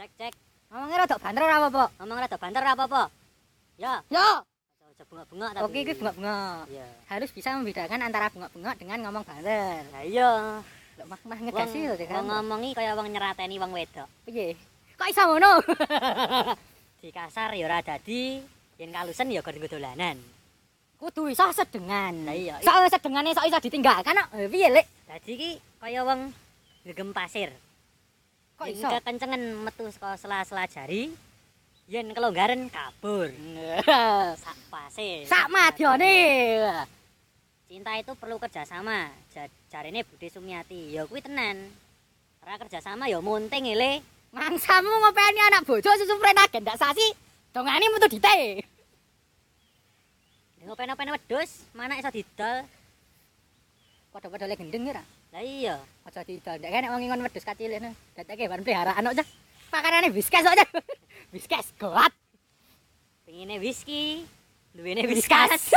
Cek. Ngomongnya rada banter ora apa-apa. Ngomong rada banter ora apa-apa. Ya. Yo. Aja bengok-bengok tapi. Oke, iki bengok-bengok. Iya. Harus bisa membedakan antara bengok-bengok dengan ngomong banter. Lah iya. Lho mah ngegasi lho Wong ngomongi kaya wong nyerateni wong wedok. Piye? Kok iso ngono? Di kasar ya ora dadi, yen kalusen ya gur dolanan. Kudu iso sedengan. Lah iya. Sok sedengane sok iso ditinggalkan kok. Piye, Lek? Dadi iki kaya wong gegem pasir. Kok Yen iso? kekencengan metu saka sela-sela jari, yen kelonggaran kabur. Sak pasir. Sak madyane. Cinta itu perlu kerjasama. Jarine Budi Sumiati. Ya kuwi tenan. Ora kerjasama ya munting le. Mangsamu ngopeni anak bojo susu prena gendak sasi. Dongane metu dite. Ngopen-open wedhus, mana iso didol. Padha-padha le gendeng ya ra? Lah iya. Aja didol. Nek nek wong ingon wedhus kacil ngono. Dateke ban peliharaan kok, Cah. Pakanane whiskas kok, Cah. Whiskas goat. Pengine whisky, duwene whiskas.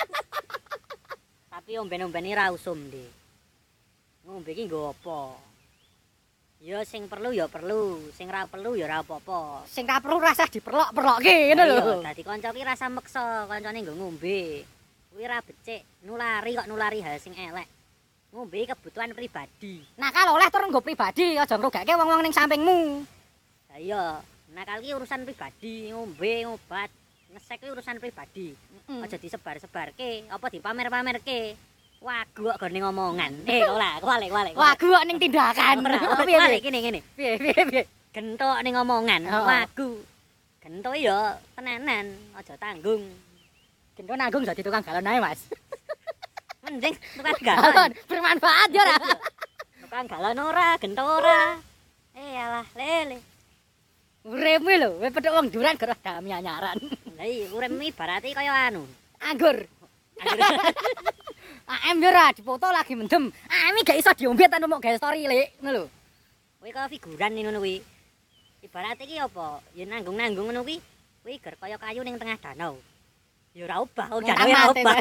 Tapi omben-omben ra usum, Dik. Ngombe iki nggo apa? Ya sing perlu ya perlu, sing ra perlu ya ora apa-apa. Sing ra perlu rasah diperlok-perlokke ngono lho. Dadi kanca ki rasa meksa kancane nggo ngombe. Kuwi ra becik, nulari hal sing elek. Ngombe kebutuhan pribadi. Nakal oleh tur nggo pribadi, aja ngrugake wong-wong ning sampingmu. Lah iya, nakal ki urusan pribadi, ngombe, ngobat, ngesek ki urusan pribadi. Aja disebar-sebarke, apa dipamer-pamerke. Wagu kok gone ngomongan. Kualik. Wagu kok ning tindakan. Piye ngene. Piye. Gentok ning ngomongan, Oh. wagu. Gentok ya tenanan, aja tanggung. Gento nanggung dadi tukang galon ae, Mas. Mending tukang galon. Galon bermanfaat ya ora? Tukang galon ora, gentok ora. Alah, lele. Uripmu lho, kowe pedhok wong duran gerah dami anyaran. Lah iya, urip ibarate kaya anu. Anggur. AM yo ora dipoto lagi mendem. AM gak iso diombe tanpa mok gawe story, Lek. Ngono lho. Kuwi kaya figuran ngono kuwi. Ibarate iki apa? Ya nanggung-nanggung ngono kuwi. Kuwi ger kaya kayu ning tengah danau. Ya ora obah, danau ora obah.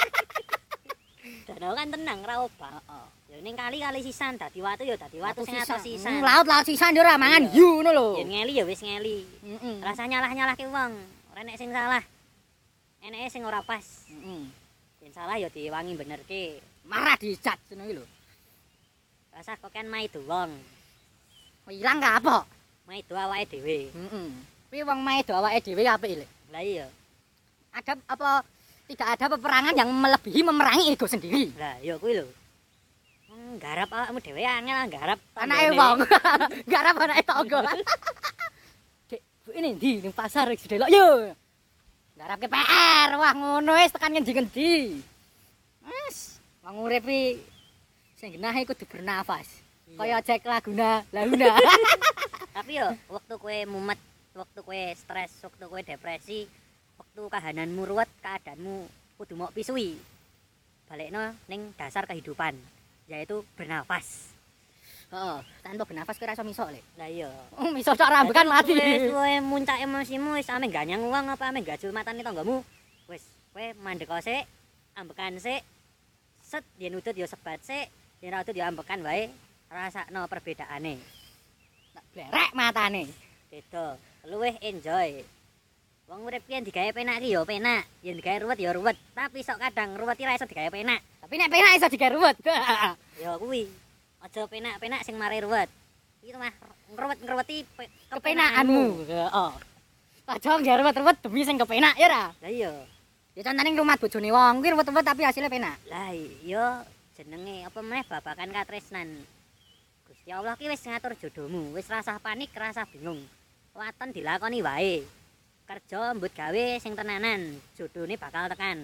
Danau kan tenang ora obah. Ya ning kali sisan dadi watu ya dadi watu sing atos sisan. Laut sisan yo ora mangan hiu ngono lho. Yen ngeli ya wis ngeli. Rasa nyalah-nyalahke wong. Ora nek sing salah. Eneke sing ora pas. Yen salah ya diwangi benerke. Marah dicat ngono iki lho. Rasa kok kan maido wong. Ilang ka apa? Maido awake dhewe. Kuwi wong maedo awake dhewe apik, Lek. Lah iya. Ada apa tidak ada peperangan yang melebihi memerangi ego sendiri. Lah ya kuwi lho. Nggarap awakmu dhewe angel nggarap Anake wong. Garap anake tangga. Dek, bu ini ndi ning pasar wis delok yo. Garapke PR. Wah, ngono wis tekan ngendi-ngendi. Wes, wong urip iki sing genah kudu bernafas. Kaya Jack Laguna, Launa. Tapi yo waktu kowe mumet, waktu kowe stres, waktu kowe depresi, waktu kahananmu ruwet, keadaanmu kudu mok pisui. Balekno ning dasar kehidupan, yaitu bernafas. Heeh, tanpa bernafas kowe ora iso misok, Lek. Lah iya. Misok tok rambekan mati. Wis kowe muncak emosimu wis ame ganyang uang apa ame gajul matane tanggamu. Wis kowe mandek sik, ambekan sik. Set yen udut ya sebat sik, yen ora udut ya ambekan wae. Rasakno perbedaane. Tak blerek matane. Beda, luwih enjoy. Wong urip ki yen digawe penak ki ya penak, yen digawe ruwet ya ruwet, tapi sok kadang ruwet ki ra iso digawe penak. Tapi nek penak iso digawe ruwet. Ya kuwi. Aja penak-penak sing mari ruwet. Iki mah ngruwet-ngruweti Kepenakanmu. Heeh. Aja nggawe ruwet-ruwet demi sing kepenak ya ora? Lah iya. Ya contone rumah bojone wong kuwi ruwet-ruwet tapi hasilnya penak. Lah iya jenenge apa meneh babakan katresnan. Gusti Allah ki wis ngatur jodohmu, wis rasah panik, rasah bingung. Waton dilakoni wae. Kerja mbut gawe sing tenanan, jodhone bakal tekan.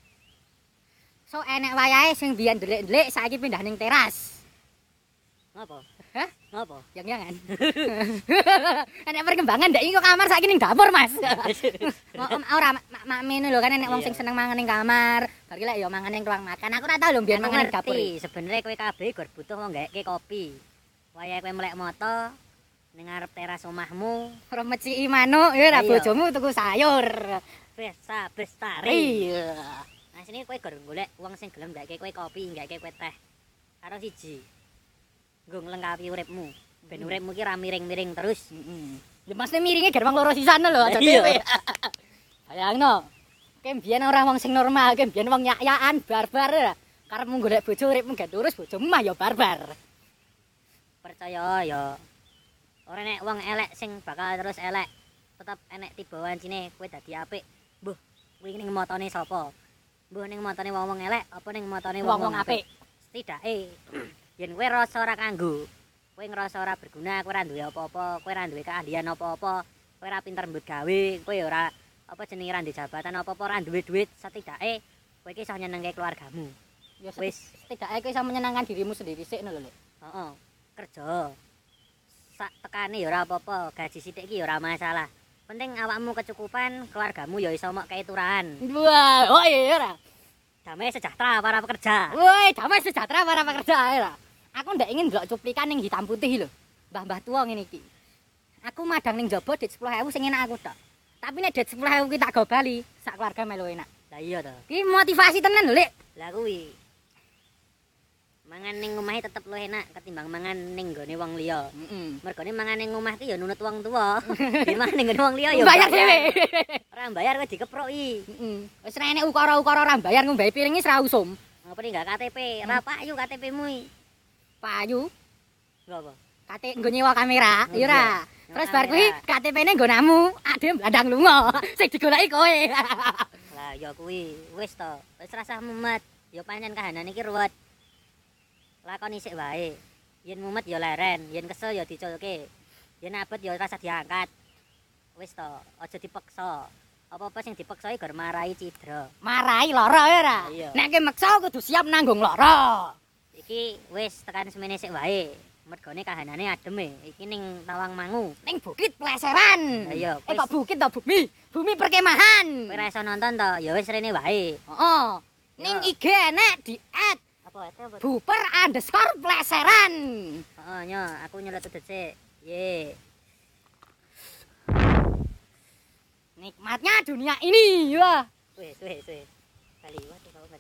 So enek wayahe sing biyen ndelik-ndelik saiki pindah ning teras. Ngopo? Hah? Ngopo? Yang-yangan. Enek perkembangan ndak iki kok kamar saiki ning dapur, Mas. Ora makmene lho kan enek wong sing seneng mangan ning kamar, bar ki lek ya mangan ning ruang makan. Aku ora tau lho mbiyen mangan ning dapur. Sebenarnya kowe kabeh gur butuh wong gaweke kopi. Wayahe kowe melek moto ning ngarep teras omahmu, Remeci manuk ya ora Iya. bojomu tuku sayur. Besa bestari. Iya. Nah sini kowe gur golek wong sing gelem gaweke kowe kopi, gaweke kowe teh. Karo siji. Nggo nglengkapi uripmu. Ben uripmu ki ra miring-miring terus. Ya masne miringe gar wong loro sisan lho aja Iya. dhewe. Bayangno. Ki mbiyen ora wong sing normal, ki mbiyen wong yak-yakan barbar ya. Karepmu golek bojo uripmu gak lurus, bojomu mah ya barbar. Percaya ya. Ora nek wong elek sing bakal terus elek. Tetep enek tiba wancine kowe dadi apik. Mbuh, kuwi ning motone sapa? Mbuh ning motone wong-wong elek apa ning motone Wong-wong apik. Setidake yen kowe rasa ora kanggo, kowe ngerasa ora berguna, kowe ora duwe apa-apa, kowe ora duwe keahlian apa-apa, kowe ora pinter mbut gawe, kowe ya ora apa jenenge ora duwe jabatan apa-apa, ora duwe duit, setidake kowe iki iso nyenengke keluargamu. Ya Wis. setidake kowe iso menyenangkan dirimu sendiri sik lho Lek. Heeh. Kerja. Sak tekane ya ora apa-apa, gaji sithik iki ya ora masalah. Penting awakmu kecukupan, keluargamu ya iso mok keturahan. Wah, oh iya ora. Damai sejahtera para pekerja. Woi, damai sejahtera para pekerja ora. Aku ndak ingin ndelok cuplikan ning hitam putih lho. Mbah-mbah tua ngene iki. Aku madang ning jaba dit 10.000 sing enak aku tok. Tapi nek dit 10.000 ki tak go bali, sak keluarga melu enak. Lah iya to. Ki motivasi tenan lho, Lek. Lah kuwi. Mangan ning omahe tetep luwih enak ketimbang mangan ning nggone wong liya. Mergone mangan ning omah ki ya nunut wong tuwa. Yen mangan ning nggone wong liya ya Bayar dhewe. Ora bayar kowe dikeproki. Wis ra enek ukara-ukara ora bayar ngombe piringi ra usum. Ngapa ning gak KTP? Ora payu KTP-mu iki. Payu, Lho apa? kate nggo nyewa kamera, ya ora. Nyewa Terus bar kuwi kamera. KTP-ne nggo namu, ade blandang lunga. Sing digoleki kowe. Lah ya kuwi wis to. Wis rasah mumet. Ya pancen kahanan iki ruwet. Lakoni sik wae. Yen mumet ya leren, yen kesel ya diculke. Yen abet ya rasa diangkat. Wis to, aja dipaksa. Apa-apa sing dipaksa iki gar marahi cidra. Marahi lara ya ora. Iya. Nek ki meksa kudu siap nanggung lara. Iki wis tekan semene sik wae. Mergone kahanane adem e. Iki ning Tawangmangu. Ning bukit pleseran. Lah iya, Kok bukit to bumi? Bumi perkemahan. Kowe ra iso nonton to, ya wis rene wae. Heeh. Ning Ya. IG enek di Apa apa? @buper_pleseran. Heeh, nyo, aku nyelot sik. Ye. Nikmatnya dunia ini. Wah. Wis. Kali wae.